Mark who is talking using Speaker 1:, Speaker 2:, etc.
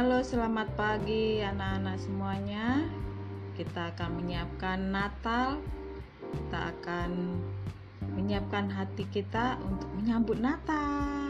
Speaker 1: Halo, selamat pagi anak-anak semuanya. Kita akan menyiapkan Natal. Kita akan menyiapkan hati kita untuk menyambut Natal.